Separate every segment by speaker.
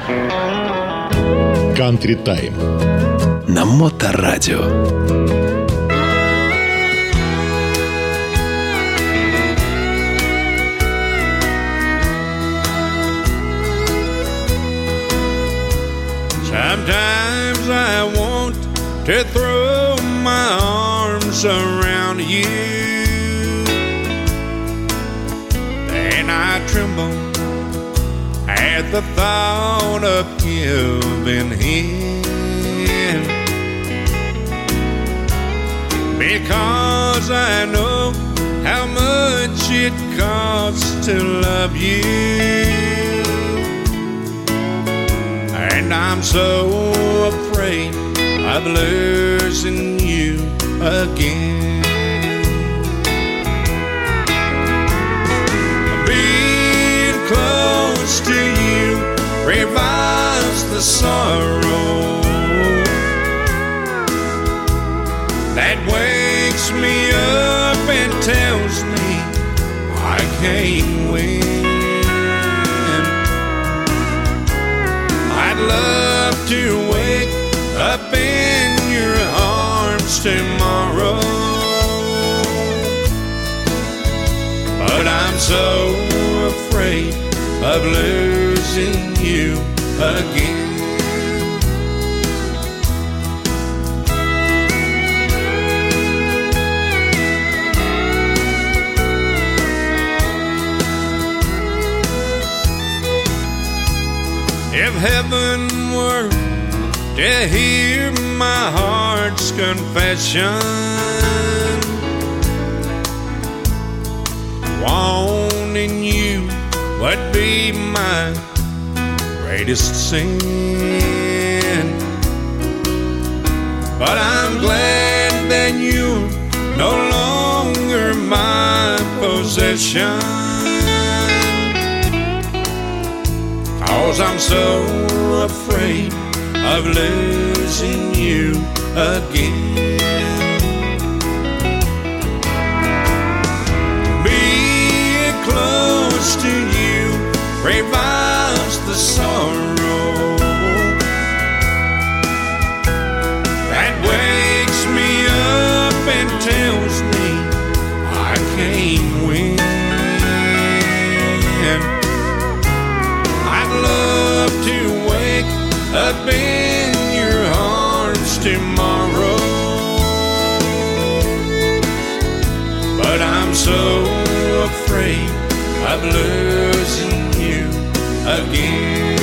Speaker 1: Country Time
Speaker 2: на Моторадио.
Speaker 3: Sometimes I want to throw my arms around you, and I tremble at the thought of giving in, because I know how much it costs to love you. And I'm so afraid of losing you again. Being close to you revives the sorrow that wakes me up and tells me I can't win. I'd love to wake up in your arms tomorrow, but I'm so afraid of losing you again. If heaven were to hear my heart's confession, wanting you would be my greatest sin. But I'm glad that you're no longer my possession, 'cause I'm so afraid of losing you again. Being close to you revives the sorrow that wakes me up and tells me I can't win. Love to wake up in your arms tomorrow, but I'm so afraid of losing you again.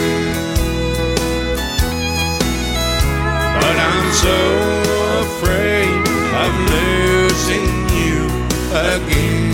Speaker 3: But I'm so afraid of losing you again.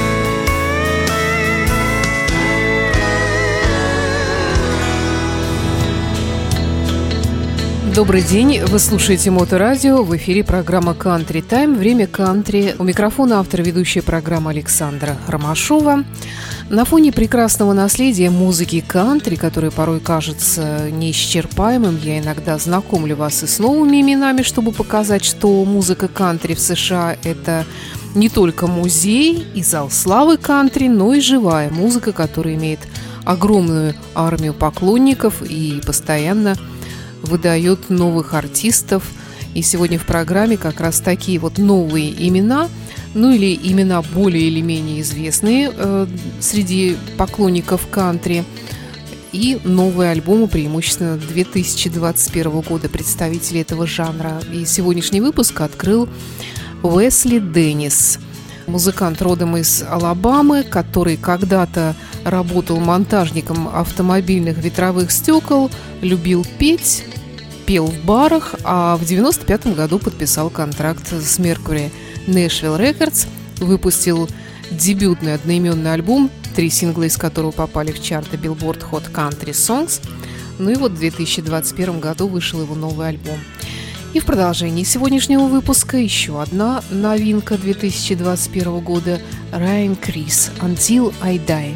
Speaker 4: Добрый день, вы слушаете Моторадио, в эфире программа Country Time, время кантри. У микрофона автор ведущая программы Александра Ромашова. На фоне прекрасного наследия музыки кантри, которое порой кажется неисчерпаемым, я иногда знакомлю вас и с новыми именами, чтобы показать, что музыка кантри в США – это не только музей и зал славы кантри, но и живая музыка, которая имеет огромную армию поклонников и постоянно выдает новых артистов. И сегодня в программе как раз такие вот новые имена, ну или имена более или менее известные среди поклонников кантри, и новые альбомы, преимущественно 2021 года, представители этого жанра. И сегодняшний выпуск открыл Уэсли Деннис, музыкант родом из Алабамы, который когда-то работал монтажником автомобильных ветровых стекол, любил петь, пел в барах, а в 1995 году подписал контракт с Mercury Nashville Records, выпустил дебютный одноименный альбом, 3 сингла из которого попали в чарты Billboard Hot Country Songs. Ну и вот в 2021 году вышел его новый альбом. И в продолжении сегодняшнего выпуска еще одна новинка 2021 года – Ryan Criss «Until I Die».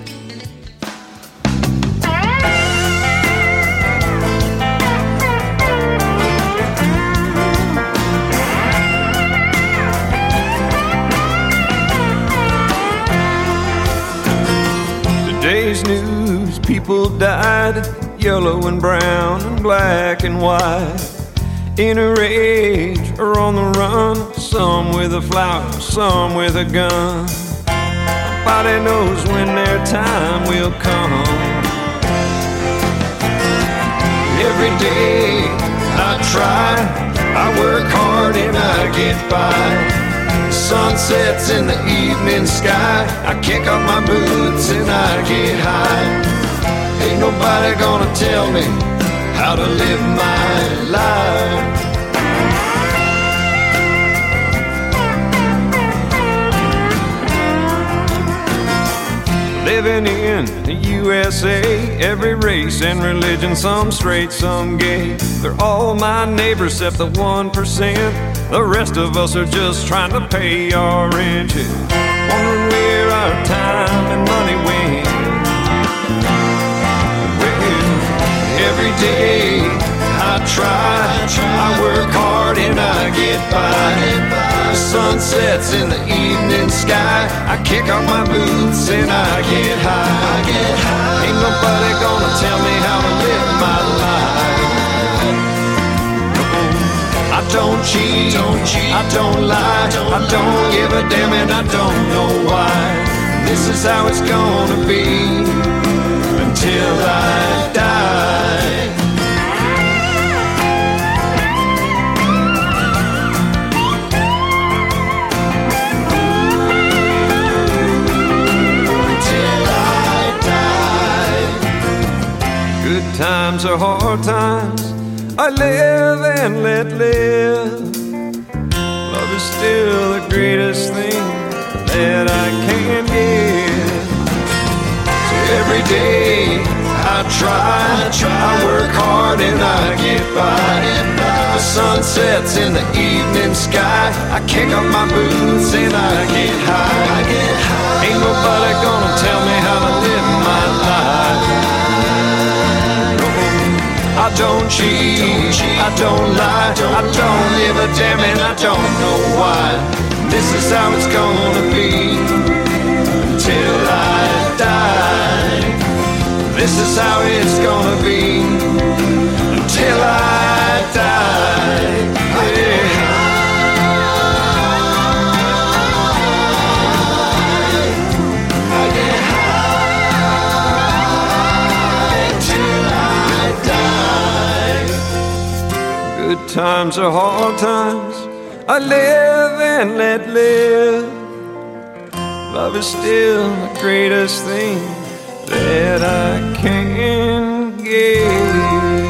Speaker 5: Today's news, people die red, yellow and brown, and black and white. In a rage or on the run, some with a flower, some with a gun. Nobody knows when their time will come. Every day I try, I work hard and I get by. Sun sets in the evening sky, I kick off my boots and I get high. Ain't nobody gonna tell me how to live my life. Living in the USA, every race and religion, some straight, some gay. They're all my neighbors except the 1%. The rest of us are just trying to pay our rent. Wondering where our time and money went. Well, every day I try, I work hard and I get by. The sun sets in the evening sky, I kick off my boots and I get high. Ain't nobody gonna tell me how to live my life. I don't cheat, I don't lie, I don't give a damn and I don't know why. This is how it's gonna be until I die. Times are hard times, I live and let live. Love is still the greatest thing that I can give. So every day I try, I work hard and I get by. The sun sets in the evening sky, I kick off my boots and I get high. Ain't nobody gonna tell me how to live my life. I don't cheat, I don't lie, I don't give a damn and I don't know why. This is how it's gonna be until I die. This is how it's gonna be until I die. Yeah. Good times are hard times, I live and let live. Love is still the greatest thing that I can give.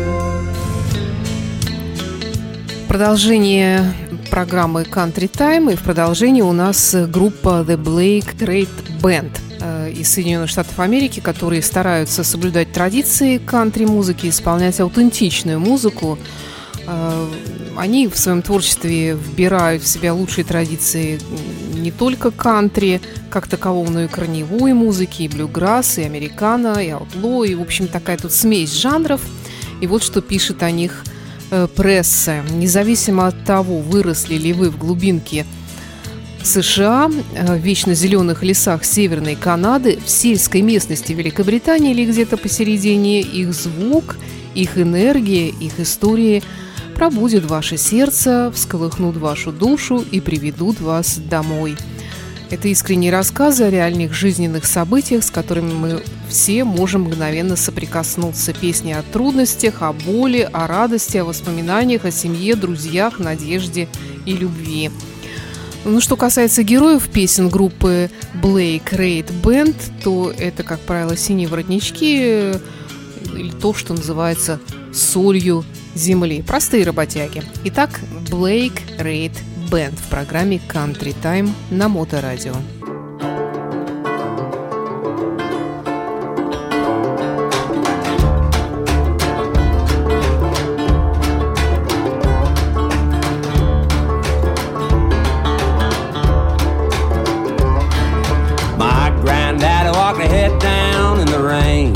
Speaker 4: Продолжение программы Country Time, и в продолжении у нас группа The Blake Great Band из Соединенных Штатов Америки, которые стараются соблюдать традиции кантри-музыки, исполнять аутентичную музыку. Они в своем творчестве вбирают в себя лучшие традиции не только кантри как такового, но и корневой музыки, и блюграсс, и американо, и аутло, и, в общем, такая тут смесь жанров. И вот что пишет о них пресса. Независимо от того, выросли ли вы в глубинке США, в вечно зеленых лесах Северной Канады, в сельской местности Великобритании или где-то посередине, их звук, их энергия, их истории пробудят ваше сердце, всколыхнут вашу душу и приведут вас домой. Это искренние рассказы о реальных жизненных событиях, с которыми мы все можем мгновенно соприкоснуться. Песни о трудностях, о боли, о радости, о воспоминаниях, о семье, друзьях, надежде и любви. Ну, что касается героев песен группы Blake Great Band, то это, как правило, синие воротнички или то, что называется солью земли. Простые работяги. Итак, Blake Great Band в программе Country Time на Моторадио.
Speaker 6: My granddaddy walked ahead down in the rain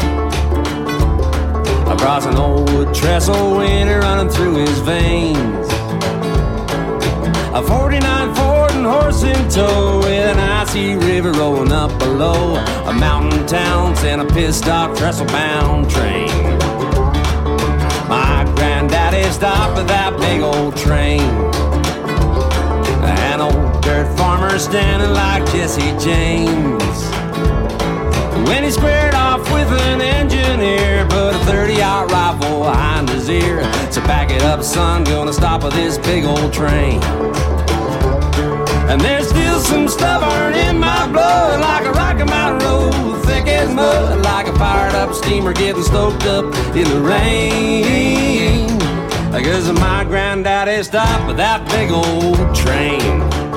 Speaker 6: across an old wood trestle, winter running through his veins. A 49 Ford one horse in tow with an icy river rolling up below. A mountain town sent a pissed-off trestle-bound train. My granddaddy stopped at that big old train. An old dirt farmer standing like Jesse James. When he squared off with an engineer, put a 30-aught rifle behind his ear. So back it up, son, gonna stop with this big old train. And there's still some stubborn in my blood, like a Rocky Mountain road, thick as mud, like a fired up steamer getting stoked up in the rain. Because my granddaddy stopped with that big old train.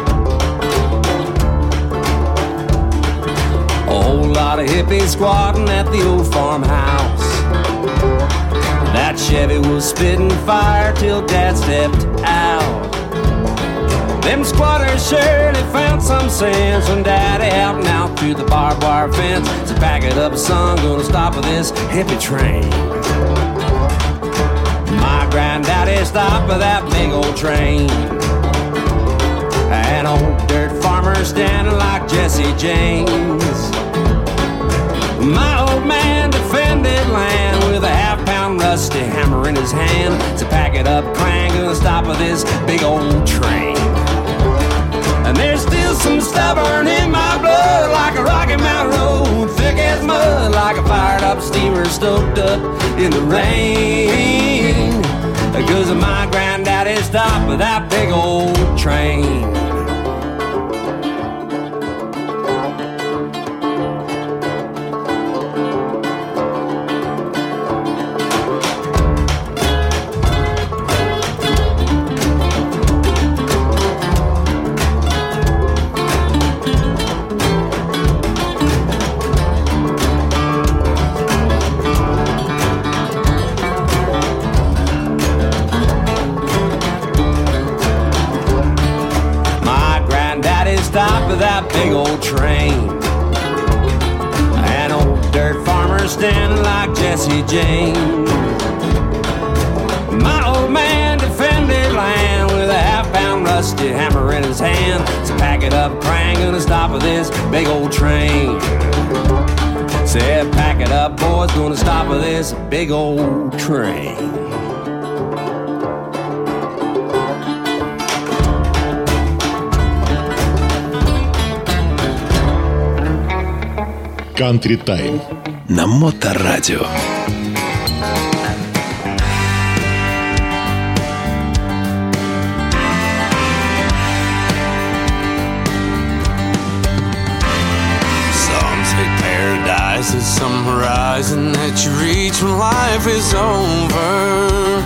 Speaker 6: A whole lot of hippies squatting at the old farmhouse. That Chevy was spitting fire till Dad stepped out. Them squatters surely found some sense when Daddy helped out through the barbed wire fence. So pack it up, son, gonna stop with this hippie train. My granddaddy stopped with that big old train. An old dirt farmer standing like Jesse James. My old man defended land with a half-pound rusty hammer in his hand. So pack it up, clang, gonna stop with this big old train. And there's still some stubborn in my blood, like a Rocky Mountain road, thick as mud, like a fired-up steamer stoked up in the rain. Because my granddaddy stopped with that big old train. Stop with that big old train. An old dirt farmer standing like Jesse James. My old man defended land with a half-pound rusty hammer in his hand. So pack it up, clang, gonna stop with this big old train. Said pack it up, boys, gonna stop with this big old train.
Speaker 1: Country Time
Speaker 2: на Моторадио.
Speaker 7: Some say paradise is some horizon that you reach when life is over.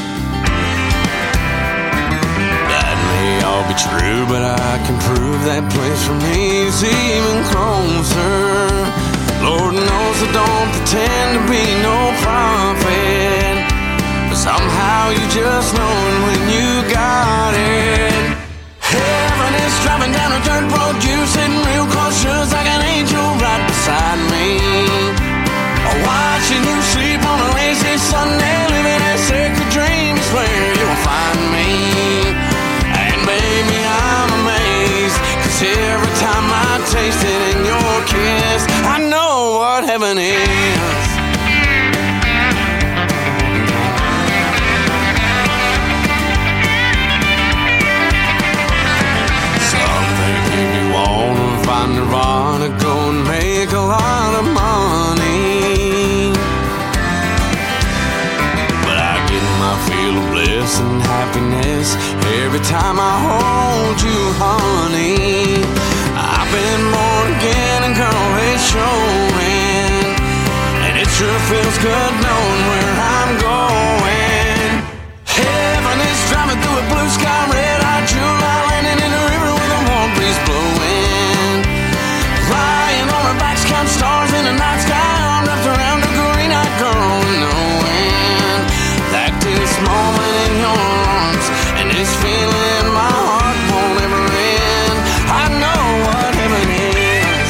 Speaker 7: That may all be true, but I can prove that place for me is even closer. Lord knows I don't pretend to be no prophet, but somehow you just know it when you got it. Heaven is driving down a dirt road, you sitting real close, just like an angel right beside me. Watching you sleep on a lazy Sunday, living a sacred dream is where you'll find me. And baby, I'm amazed, 'cause every time I taste it in your kiss, I know what heaven is. Some think if you wanna find nirvana, go and make a lot of money. But I get my feel of bliss and happiness every time I hold you, honey. I've been born again and girl, it's showing. And it sure feels good knowing where I'm going. Heaven is driving through a blue sky, red-eyed July, landing in a river with a warm breeze blowing. Lying on our backs, count stars in the night sky, arm wrapped around a green-eyed girl, knowing that this moment in your arms and this feeling in my heart won't ever end. I know what heaven is.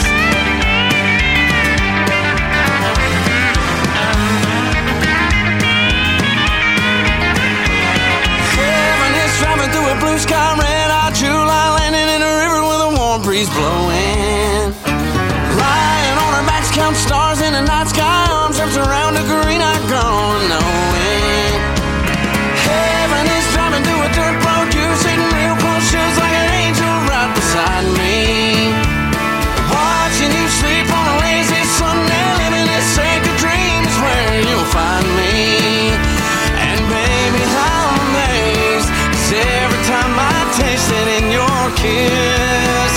Speaker 7: breeze blowing. Lying on our backs, count stars in the night sky, arms wrapped around a green-eyed girl, knowing heaven is driving through a dirt road. You're sitting real close, just like an angel right beside me. Watching you sleep on a lazy Sunday, living this sacred dream is where you'll find me. And baby, I'm amazed, 'cause every time I taste it in your kiss,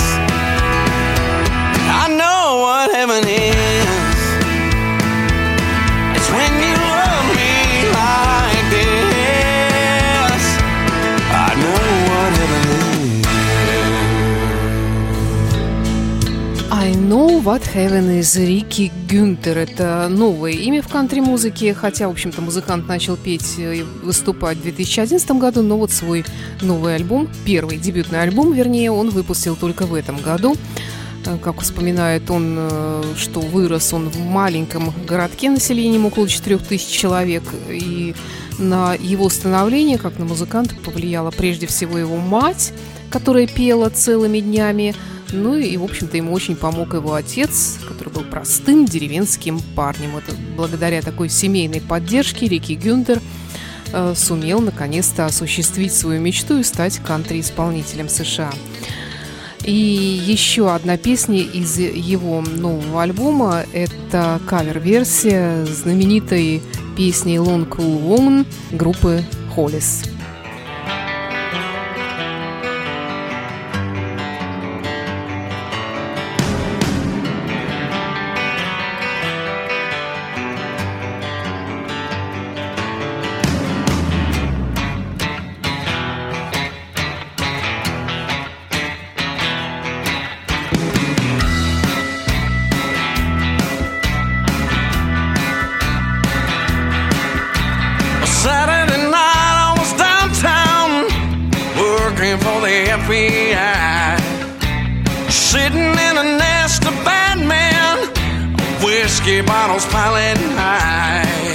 Speaker 7: I know what heaven is. It's when you love me like this. I know what heaven is.
Speaker 4: I know what heaven is. Рики Гюнтер. Это новое имя в кантри-музыке, хотя, в общем-то, музыкант начал петь и выступать в 2011 году, но вот свой новый альбом, первый дебютный альбом, вернее, он выпустил только в этом году. Как вспоминает он, что вырос он в маленьком городке населением около 4000 человек, и на его становление, как на музыканта, повлияла прежде всего его мать, которая пела целыми днями. Ну и, в общем-то, ему очень помог его отец, который был простым деревенским парнем. Это благодаря такой семейной поддержке Рики Гюнтер сумел наконец-то осуществить свою мечту и стать кантри-исполнителем США. И еще одна песня из его нового альбома – это кавер-версия знаменитой песни «Lone Cool Woman» группы Hollies.
Speaker 7: Saturday night I was downtown working for the FBI, sitting in a nest of bad men, whiskey bottles piling high.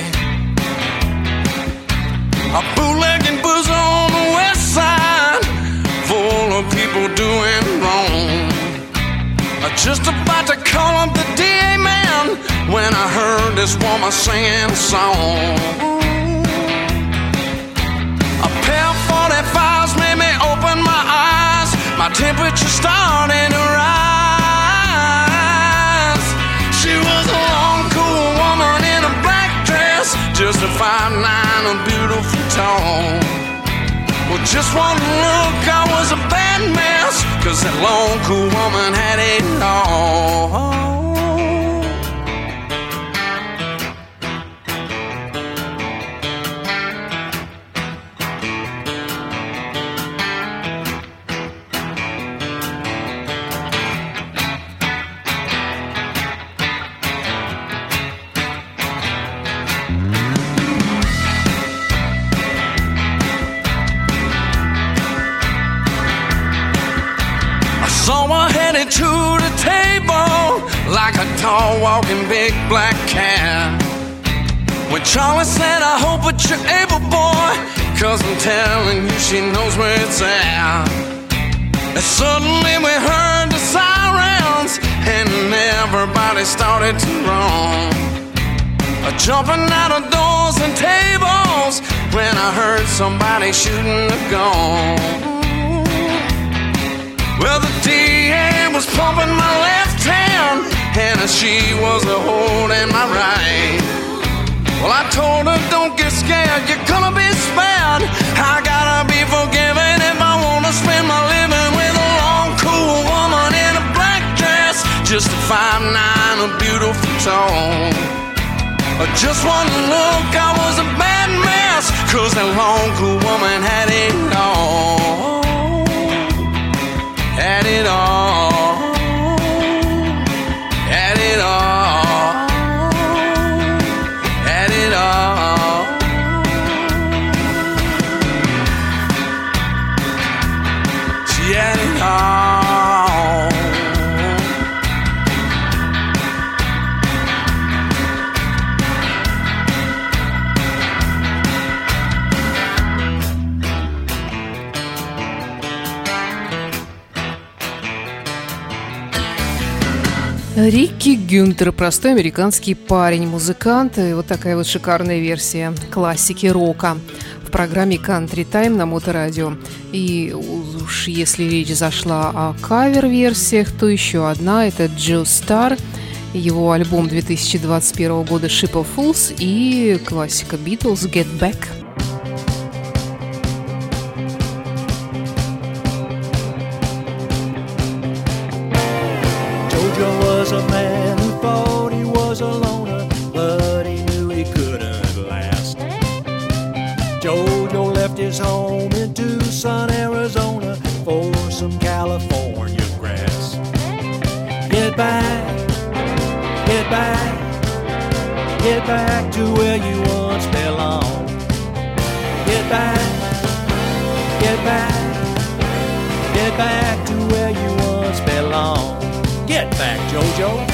Speaker 7: A bootlegging booze on the west side, full of people doing wrong. Just about to call up the DA man when I heard this woman singing a song. A pair of 45s made me open my eyes. My temperature started to rise. She was a long, cool woman in a black dress, just a 5'9", a beautiful tone. Well, just one look, I was a bad mess, 'cause that long, cool woman had it all. Saw her headed to the table like a tall walking big black cat. When Charlie said, I hope that you're able, boy, 'cause I'm telling you she knows where it's at. And suddenly we heard the sirens and everybody started to run, jumping out of doors and tables when I heard somebody shooting a gun. Well, the DA was pumping my left hand, and she was holding my right. Well, I told her, don't get scared, you're gonna be spared. I gotta be forgiven if I wanna spend my living with a long, cool woman in a black dress, just a 5'9", a beautiful tone. Just one look, I was a bad mess, 'cause that long, cool woman had it all. Had it all, had it all, had it all. She had it all.
Speaker 4: Рикки Гюнтер, простой американский парень, музыкант. И вот такая вот шикарная версия классики рока в программе Country Time на Моторадио. И уж если речь зашла о кавер-версиях, то еще одна – это Джо Стар, его альбом 2021 года «Ship of Fools» и классика Beatles «Get Back».
Speaker 8: Was a man who thought he was a loner, but he knew he couldn't last. Jojo left his home in Tucson, Arizona, for some California grass. Get back, get back, get back to where you once belonged. Get back, get back, get back to where you once belonged. Get back, Jojo.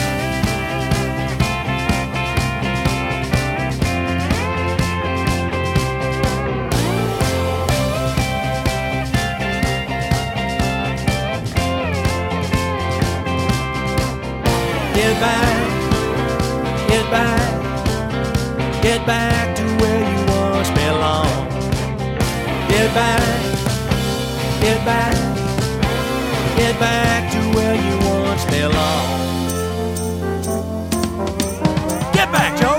Speaker 8: Get back, get back, get back to where you once belonged. Get back, get back, get back to where you once belonged. Get back, Joe!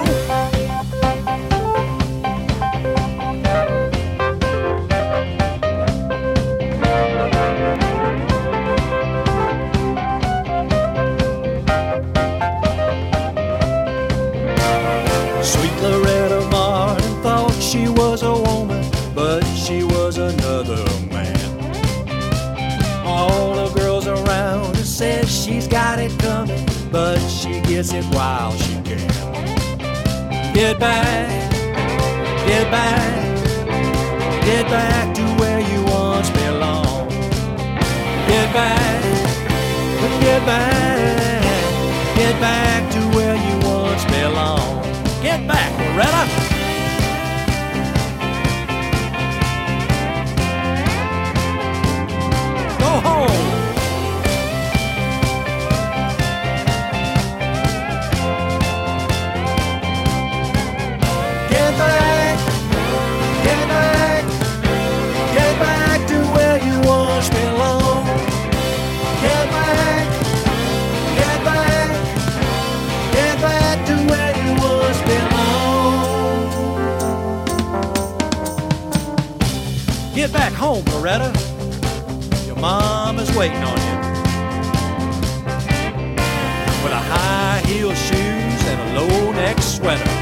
Speaker 8: Sweet Loretta Martin thought she was a woman, but she was another man. All the girls around her says she's got it coming, but she gets it while she can. Get back, get back, get back to where you once belonged. Get back, get back, get back to where you once belonged. Get back, Loretta! Go home! Get back, get back, get back to where you once belonged. Get back, get back, get back to where you once belonged. Get back home, Loretta. Mama's waiting on you with a high-heel shoes and a low-neck sweater.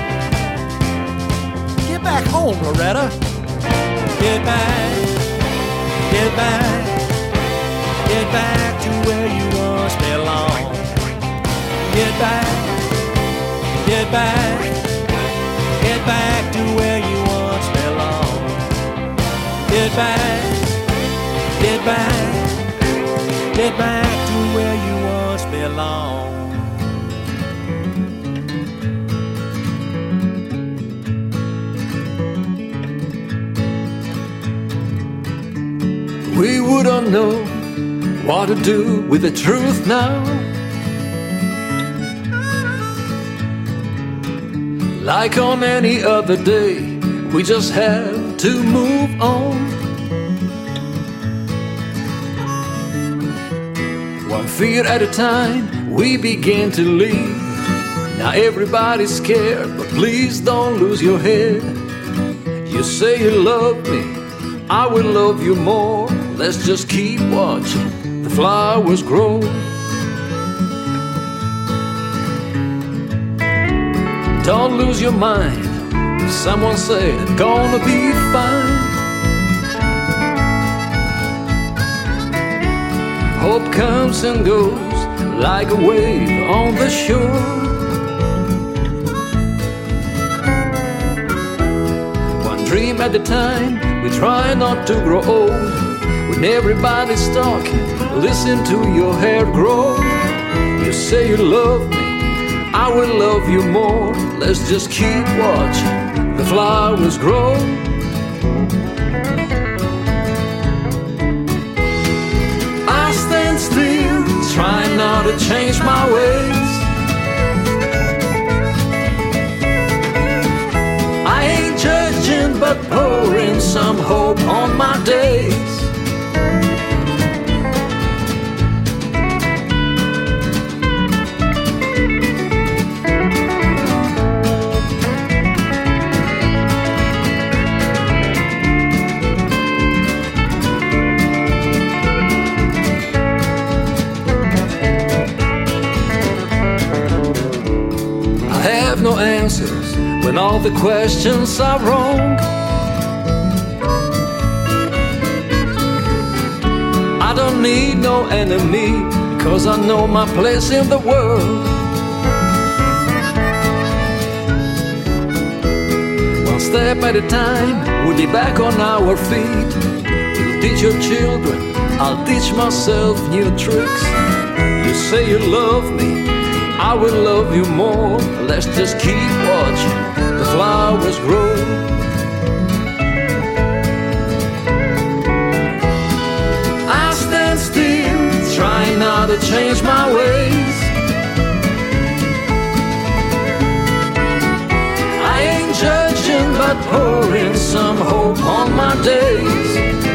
Speaker 8: Get back home, Loretta. Get back, get back, get back to where you once belonged. Get back, get back, get back to where you once belonged. Get back, get back, get back to where you once belonged.
Speaker 9: We wouldn't know what to do with the truth now. Like on any other day, we just have to move on. One fear at a time, we begin to leave. Now everybody's scared, but please don't lose your head. You say you love me, I will love you more. Let's just keep watching the flowers grow. Don't lose your mind. Someone said it's gonna be fine. Hope comes and goes like a wave on the shore. One dream at a time, we try not to grow old. When everybody's talking, listen to your hair grow. You say you love me, I will love you more. Let's just keep watching the flowers grow. I stand still, trying not to change my ways. but pouring some hope on my days. No answers when all the questions are wrong. I don't need no enemy, because I know my place in the world. One step at a time, we'll be back on our feet. You'll teach your children, I'll teach myself new tricks. You say you love me, I will love you more. Let's just keep watching the flowers grow. I stand still, trying not to change my ways. I ain't judging, but pouring some hope on my days.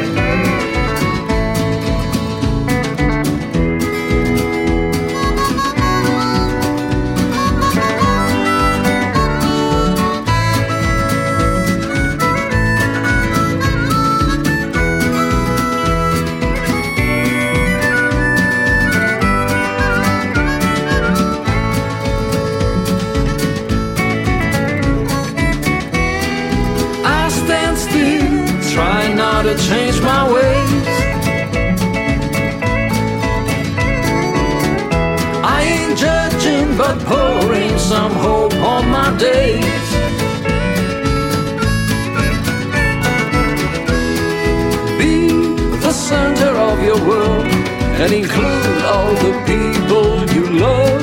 Speaker 9: To change my ways. I ain't judging, but pouring some hope on my days. Be the center of your world and include all the people you love.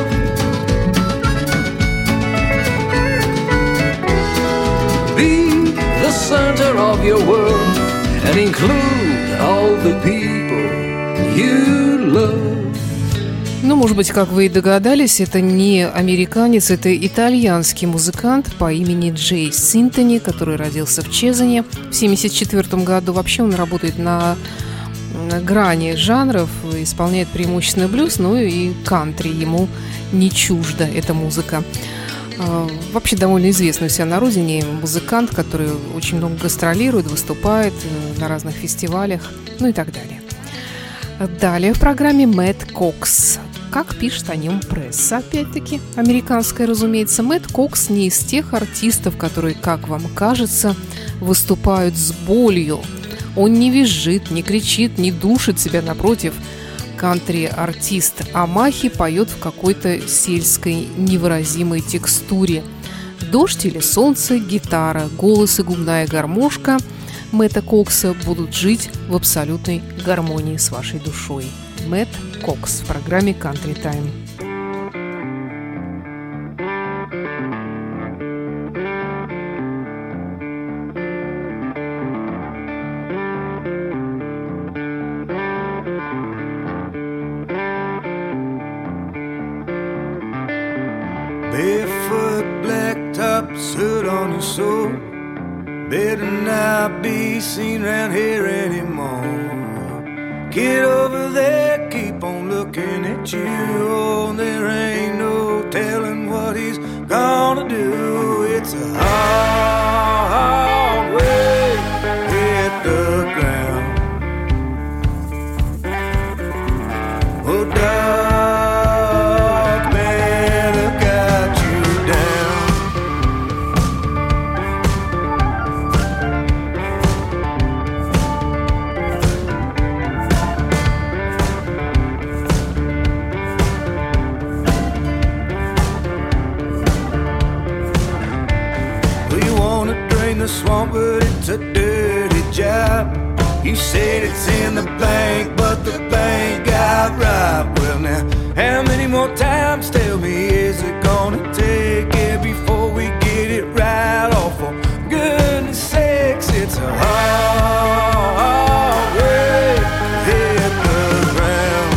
Speaker 9: Be the center of your world and include all the people you love.
Speaker 4: Ну, может быть, как вы и догадались, это не американец, это итальянский музыкант по имени Джей Синтони, который родился в Чезане в 1974 году. Вообще он работает на грани жанров, исполняет преимущественно блюз, но и кантри ему не чужда эта музыка. Вообще довольно известный у себя на родине музыкант, который очень много гастролирует, выступает на разных фестивалях, ну и так далее. Далее в программе Мэтт Кокс. Как пишет о нем пресса, опять-таки, американская, разумеется, Мэтт Кокс не из тех артистов, которые, как вам кажется, выступают с болью. Он не визжит, не кричит, не душит себя, напротив. Кантри-артист Амахи поет в какой-то сельской невыразимой текстуре. Дождь или солнце, гитара, голос и губная гармошка Мэтта Кокса будут жить в абсолютной гармонии с вашей душой. Мэтт Кокс в программе Country Time.
Speaker 5: Barefoot, blacktop, soot on your soul. Better not be seen round here anymore. Get over there, keep on looking at you. Oh, there ain't no telling what he's gonna do. It's a hard way to hit the ground. Oh, dark man, I got you down. Well, you wanna drain the swamp, but it's a dirty job. You said it's in the bank, but the bank got robbed. Well, now, how many more times, tell me, is it gonna take it before we get it right? Oh, for goodness sakes, it's a hard way to hit the ground.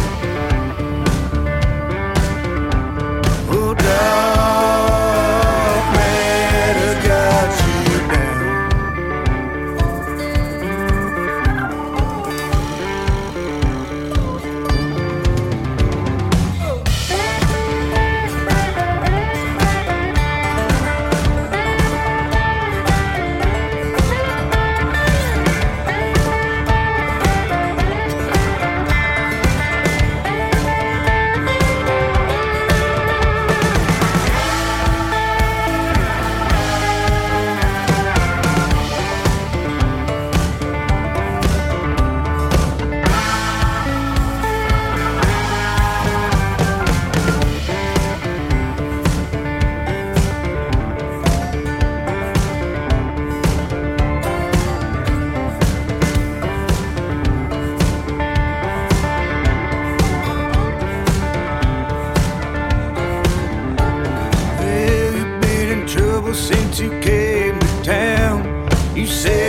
Speaker 5: Oh, dark man, I got you down.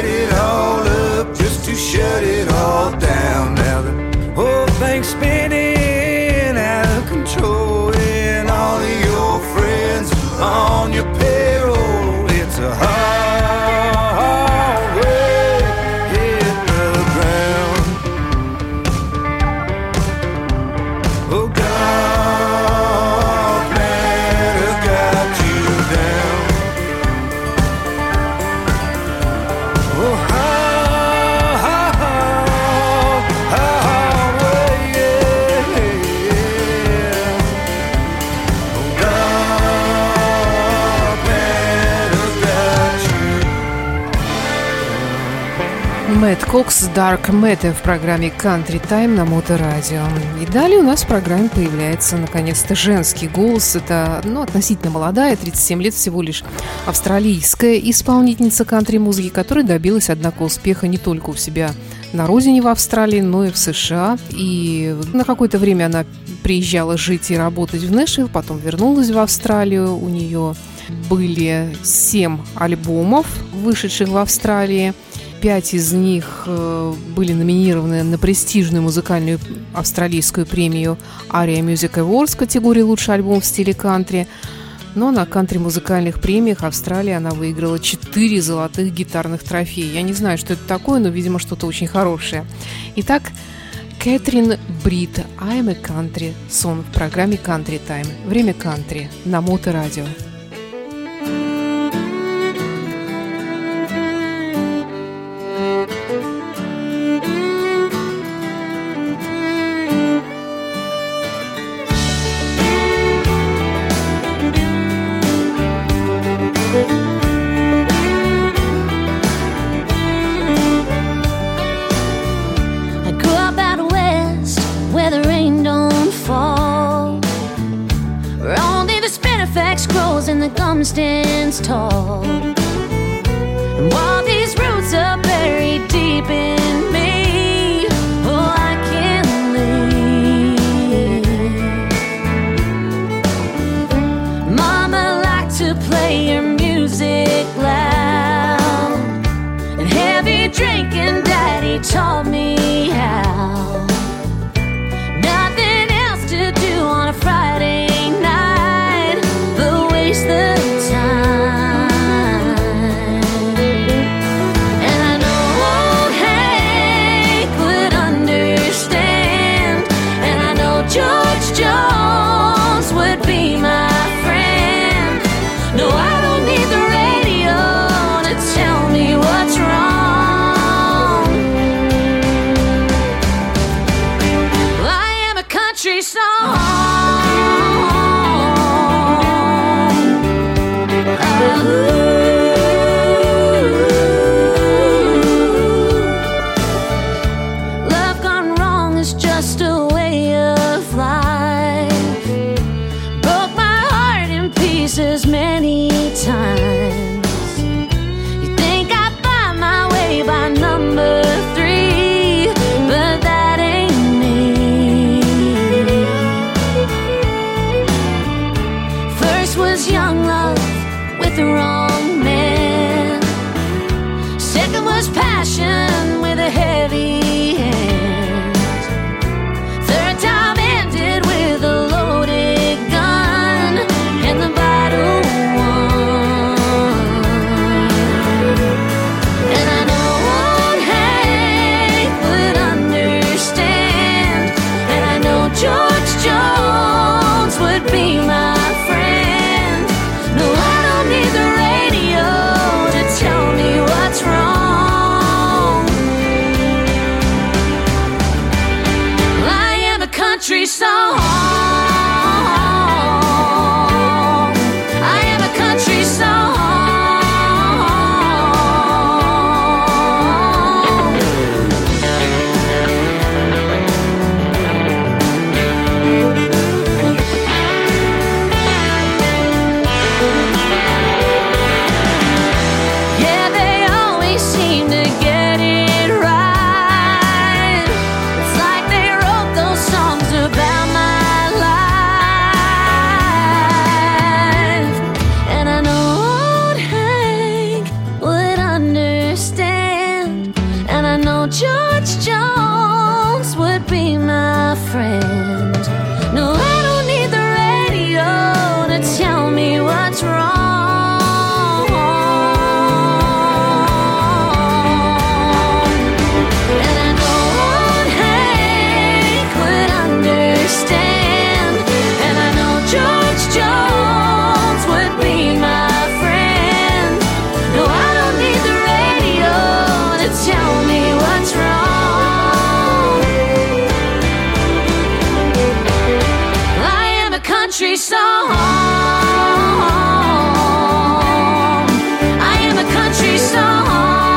Speaker 5: it all up just to shut it all down. Now the whole thing's spinning out of control, and all of your friends on your payroll. It's a hard way to hit the ground. Oh, God, man, has got you down. Oh, hard way, yeah. Oh, God, man, has got you.
Speaker 4: Мэтт Кокс «Dark Matter» в программе Country Time на Моторадио. И далее у нас в программе появляется наконец-то женский голос. Это относительно молодая, 37 лет всего лишь, австралийская исполнительница кантри-музыки, которая добилась, однако, успеха не только у себя на родине в Австралии, но и в США. И на какое-то время она приезжала жить и работать в Нэшвилл, потом вернулась в Австралию. У нее были 7 альбомов, вышедших в Австралии. 5 из них были номинированы на престижную музыкальную австралийскую премию ARIA Music Awards в категории «Лучший альбом в стиле кантри». Но на кантри-музыкальных премиях Австралии она выиграла 4 золотых гитарных трофея. Я не знаю, что это такое, но, видимо, что-то очень хорошее. Итак, Кэтрин Брит «I'm a Country Song» в программе Country Time. Время кантри на Моторадио.
Speaker 10: And the gum stands tall, and while these roots are buried deep in me, oh, I can't leave. Mama liked to play her music loud, and heavy drinking Daddy taught me how. Nothing else to do on a Friday night, waste the time. And I know old Hank would understand, and I know George Jones would be my friend. No, I don't need the radio to tell me what's wrong. I am a country song. Love gone wrong is just a way of life. Broke my heart in pieces many times. You think I'd find my way by number 3, but that ain't me. First was young love with the wrong man. Second was passion with a heavy hand. Third time ended with a loaded gun and the battle won. And I know old Hank would understand, and I know George Jones would be my friend. No, I don't need the radio to tell me what's wrong. know George Jones would be my friend. No, I don't need the radio to tell me what's wrong. And I know old Hank would understand. And I know George Jones would be my friend. No, I don't need the radio to tell me what's wrong. I am a country song. I am a country song.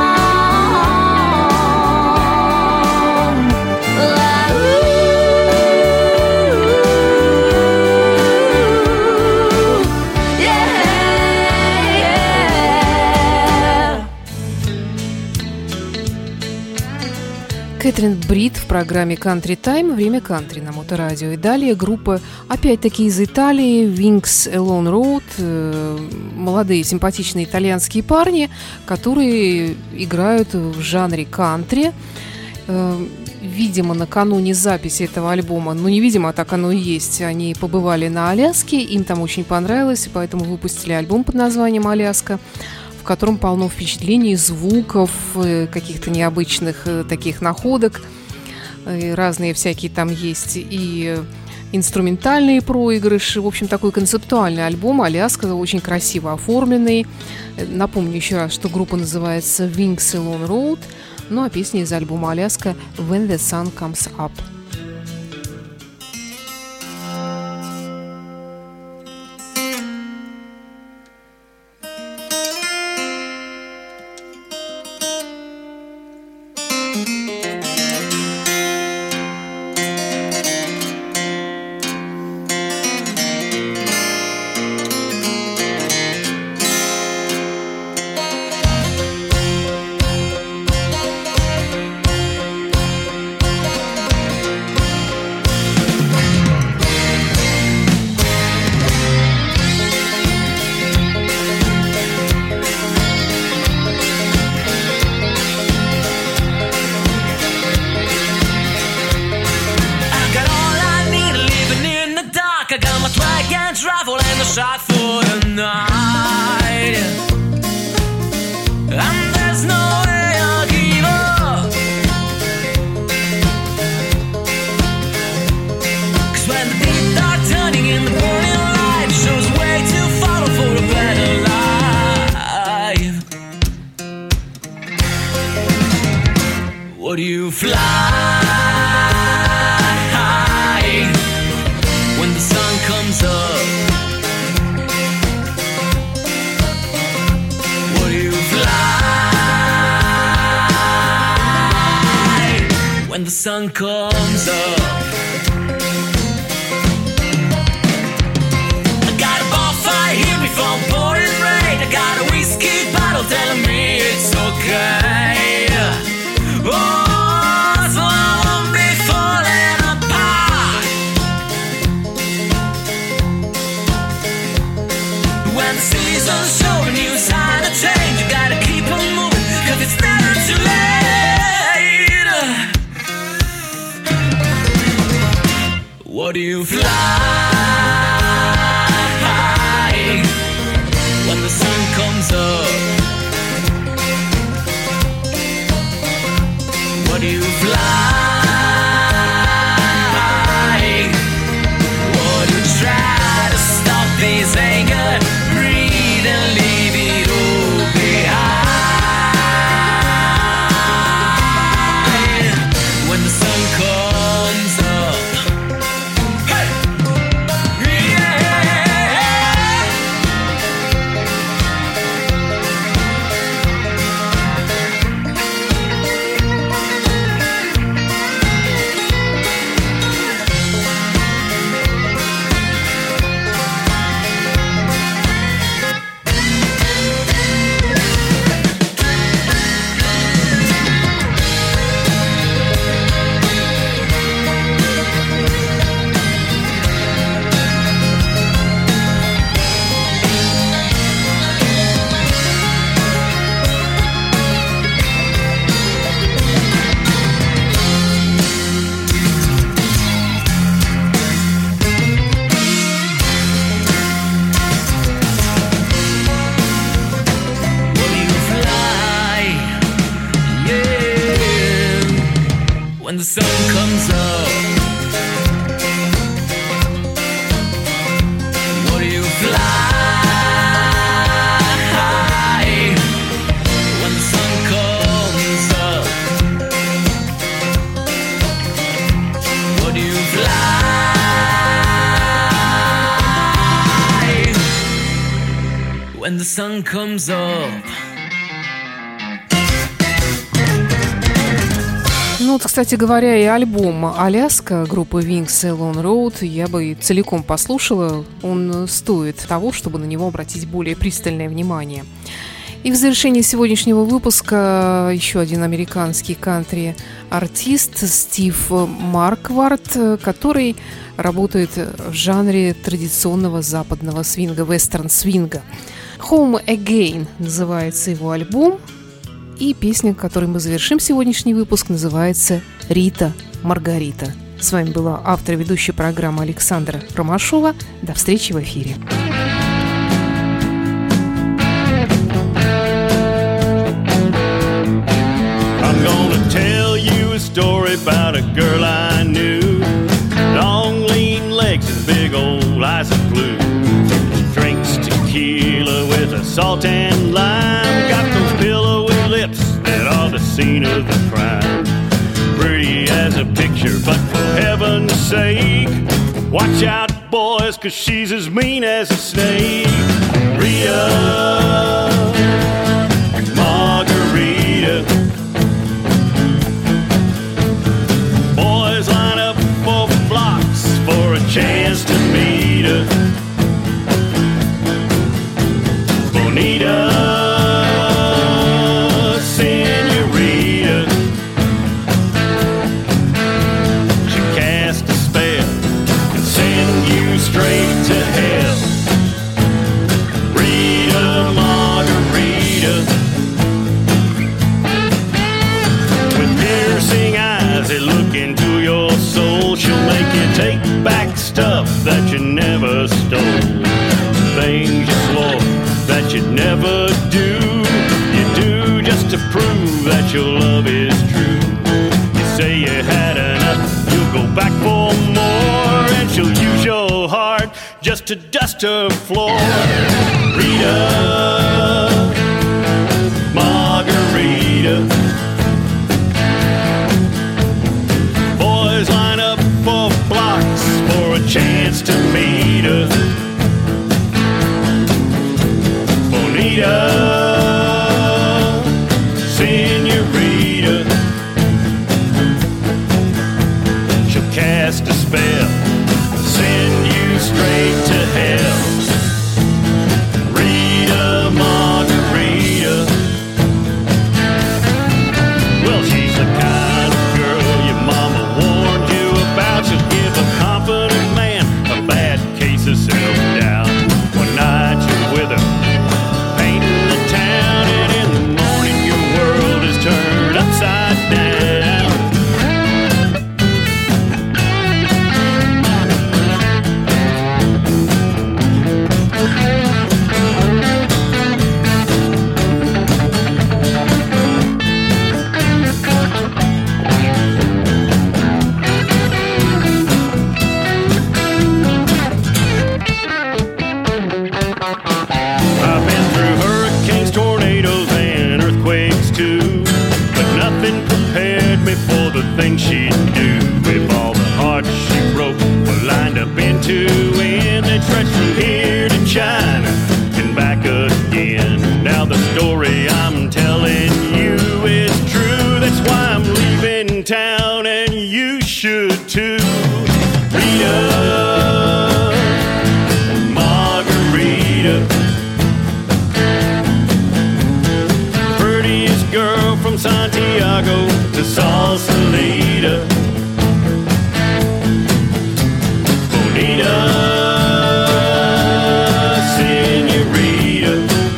Speaker 4: Кэтрин Брит в программе Country Time «Время кантри» на Моторадио. И далее группа, опять-таки из Италии, Wings Alone Road. Молодые симпатичные итальянские парни, которые играют в жанре кантри. Видимо, накануне записи этого альбома, ну, невидимо, а так оно и есть, они побывали на Аляске, им там очень понравилось, и поэтому выпустили альбом под названием «Аляска», в котором полно впечатлений, звуков, каких-то необычных таких находок. Разные всякие там есть и инструментальные проигрыши. В общем, такой концептуальный альбом «Аляска», очень красиво оформленный. Напомню еще раз, что группа называется Wings Alone Road. Ну а песня из альбома «Аляска» «When the Sun Comes Up».
Speaker 11: Shot for the night, and there's no way I'll give up. 'Cause when the beat are turning in the morning light, shows a way to follow for a better life. Would you fly when the sun comes up? When the sun comes up, I got a bonfire here before pouring rain. I got a whiskey bottle telling me it's okay. Oh, so I won't be falling apart. When the season's showing you a sign of change, you gotta keep on moving, 'cause it's never too late. Would you fly when the sun comes up? Would you fly? Would you try to stop this anger? Breathe and leave it all behind. When the sun comes up, when the sun comes up. What do you fly when the sun comes up? What do you fly when the sun comes up?
Speaker 4: Ну вот, кстати говоря, и альбом «Аляска» группы Wings Alone Road я бы целиком послушала. Он стоит того, чтобы на него обратить более пристальное внимание. И в завершении сегодняшнего выпуска еще один американский кантри-артист Стив Марквард, который работает в жанре традиционного западного свинга, вестерн-свинга. «Home Again» называется его альбом. И песня, которой мы завершим сегодняшний выпуск, называется «Рита Маргарита». С вами была автор и ведущая программы Александра Ромашова. До встречи в эфире.
Speaker 12: I'm gonna tell you a story about a girl I knew. Long lean legs and big old eyes of blue. She drinks tequila with a salt and lime. Got those pillowy lips that are the scene of the crime. Pretty as a picture, but for heaven's sake, watch out, boys, 'cause she's as mean as a snake. Rita Margarita. Boys line up for blocks for a chance to meet her. Bonita, senorita. She cast a spell and send you straight to hell. Rita Margarita. With piercing eyes that look into your soul, she'll make you take back stuff that you never stole. Things you swore that you'd never do, you do just to prove that your love is true. You say you had enough, you'll go back for more, and she'll use your heart just to dust her floor. Rita Margarita. Boys line up for blocks for a chance to meet her. Bonita, senorita. She'll cast a spell, send you straight to hell. Rita Margarita. Well, she's the kind of girl your mama warned you about. She'll give a confident man a bad case of self-doubt. One night you're with her, painting the town, and in the morning your world is turned upside down. I've been through hurricanes, tornadoes, and earthquakes too, but nothing prepared me for the things she'd do. If all the hearts she broke were lined up into end, they stretched from here to China and back again. Now the story I'm telling you is true. That's why I'm leaving town, and you should too. Rita Margarita. Prettiest girl from Santiago to Sausalito. Bonita, senorita.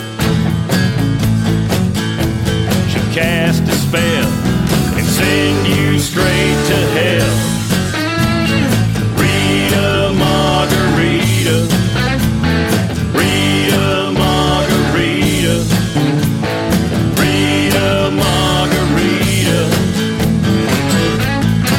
Speaker 12: She'll cast a spell and send you straight to hell. Rita Margarita. Rita Margarita. Rita Margarita.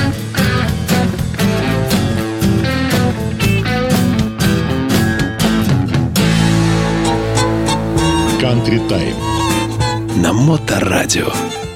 Speaker 1: Country Time.
Speaker 2: На Моторадио.